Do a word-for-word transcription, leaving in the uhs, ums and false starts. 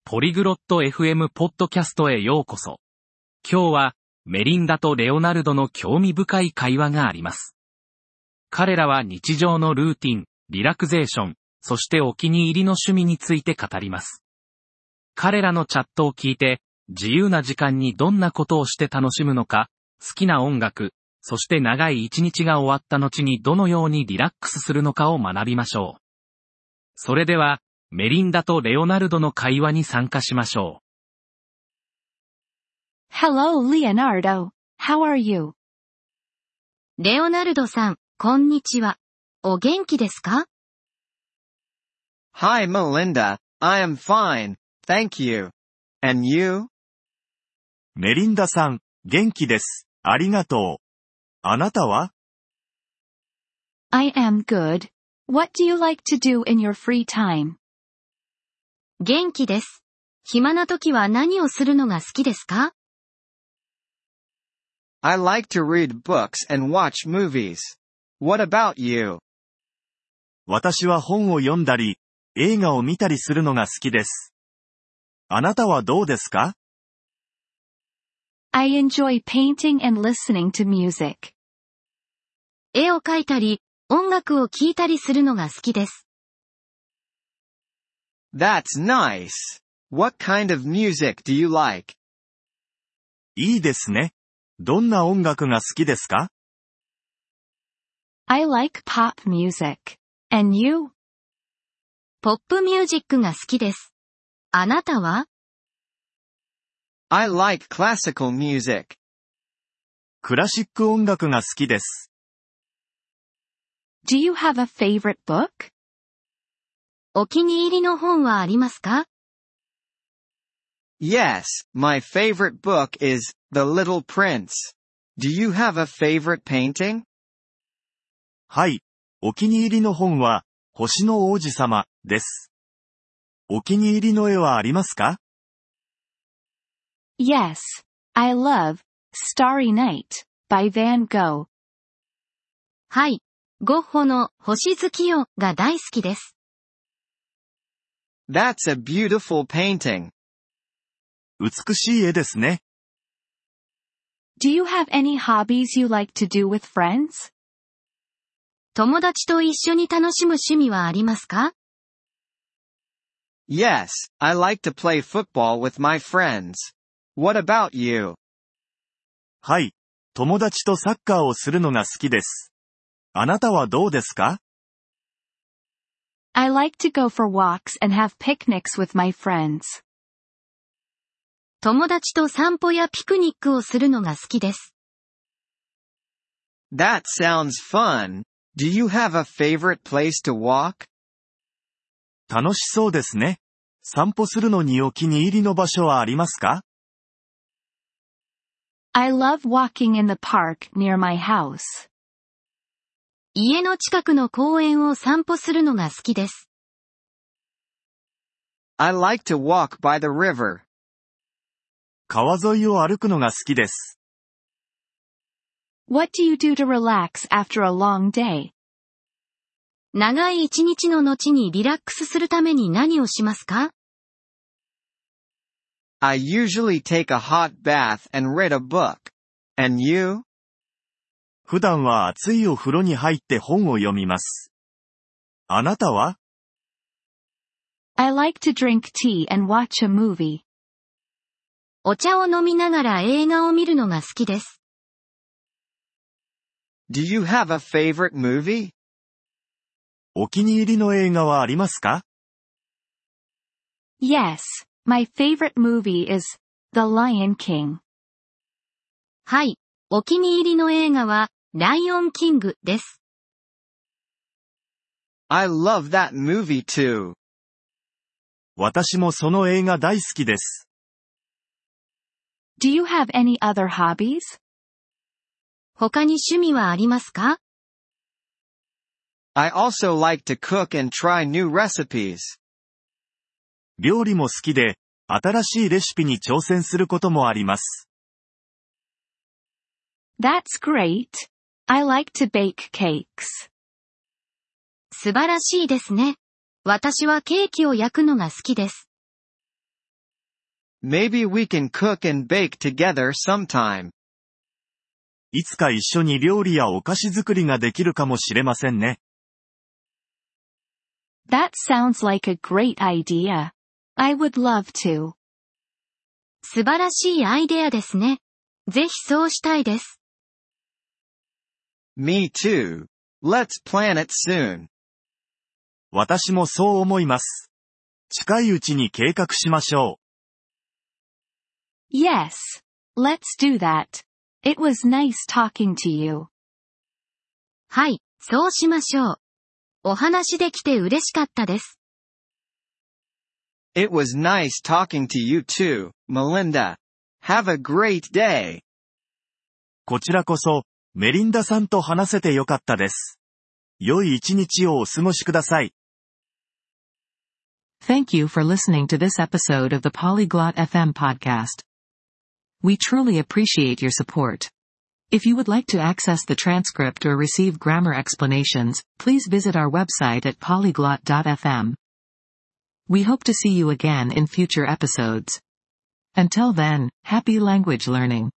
ポリグロット エフエム ポッドキャストへようこそ。今日はメリンダとレオナルドの興味深い会話があります。彼らは日常のルーティン、リラクゼーション、そしてお気に入りの趣味について語ります。彼らのチャットを聞いて、自由な時間にどんなことをして楽しむのか、好きな音楽、そして長い一日が終わった後にどのようにリラックスするのかを学びましょう。それでは、メリンダとレオナルドの会話に参加しましょう。Hello, Leonardo. How are you? レオナルドさん、こんにちは。お元気ですか？ Hi, Melinda. I am fine. Thank you. And you? メリンダさん、元気です。ありがとう。あなたは？ I am good. What do you like to do in your free time? 元気です。暇な時は何をするのが好きですか？ I like to read books and watch movies. What about you? 私は本を読んだり、映画を見たりするのが好きです。あなたはどうですか？ I enjoy painting and listening to music. 絵を描いたり、音楽を聴いたりするのが好きです。 That's nice. What kind of music do you like? いいですね。どんな音楽が好きですか？ I like pop music. And you? ポップミュージックが好きです。あなたは？ I like classical music. クラシック音楽が好きです。 Do you have a favorite book? お気に入りの本はありますか？ Yes, my favorite book is The Little Prince. Do you have a favorite painting? はい。お気に入りの本は、星の王子様です。お気に入りの絵はありますか？ Yes, I love Starry Night by Van Gogh. はい。ゴッホの星月夜が大好きです。 That's a beautiful painting. 美しい絵ですね。 Do you have any hobbies you like to do with friends? 友達と一緒に楽しむ趣味はありますか？ Yes, I like to play football with my friends. What about you? はい。友達とサッカーをするのが好きです。あなたはどうですか？ I like to go for walks and have picnics with my friends. 友達と散歩やピクニックをするのが好きです。 That sounds fun. Do you have a favorite place to walk? 楽しそうですね。散歩するのにお気に入りの場所はありますか？ I love walking in the park near my house. 家の近くの公園を散歩するのが好きです。 I like to walk by the river. 川沿いを歩くのが好きです。 What do you do to relax after a long day? 長い一日の後にリラックスするために何をしますか？ I usually take a hot bath and read a book. And you? 普段は熱いお風呂に入って本を読みます。あなたは？ I like to drink tea and watch a movie. お茶を飲みながら映画を見るのが好きです。 Do you have a favorite movie? お気に入りの映画はありますか？ Yes, my favorite movie is The Lion King. はい、お気に入りの映画はライオンキングです。 I love that movie too. 私もその映画大好きです。 Do you have any other hobbies? 他に趣味はありますか？ I also like to cook and try new recipes. 料理も好きで、新しいレシピに挑戦することもあります。 That's great. I like to bake cakes. 素晴らしいですね。私はケーキを焼くのが好きです。 Maybe we can cook and bake together sometime. いつか一緒に料理やお菓子作りができるかもしれませんね。 That sounds like a great idea. I would love to. 素晴らしいアイデアですね。ぜひそうしたいです。 Me too. Let's plan it soon. 私もそう思います。近いうちに計画しましょう。Yes. Let's do that. It was nice talking to you. はい、そうしましょう。お話できて嬉しかったです。 It was nice talking to you too, Melinda. Have a great day. こちらこそ、メリンダさんと話せてよかったです。良い一日をお過ごしください。 Thank you for listening to this episode of the Polyglot エフエム podcast. We truly appreciate your support. If you would like to access the transcript or receive grammar explanations, please visit our website at polyglot dot f m. We hope to see you again in future episodes. Until then, happy language learning.